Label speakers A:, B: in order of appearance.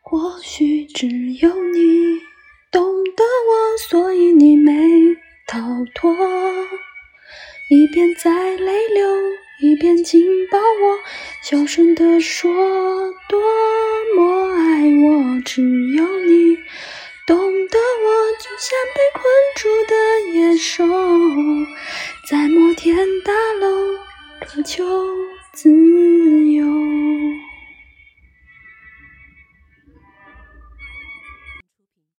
A: 或许只有你懂得我，所以你没逃脱。一边在泪流，一边紧抱我，小声地说多么爱我。只有你懂得我，就像被困住的野兽，在摩天大楼渴求自由。